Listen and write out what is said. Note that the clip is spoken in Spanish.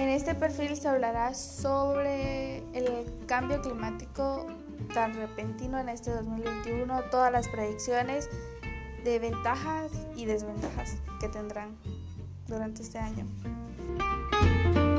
este perfil se hablará sobre el cambio climático tan repentino en este 2021, todas las predicciones de ventajas y desventajas que tendrán durante este año.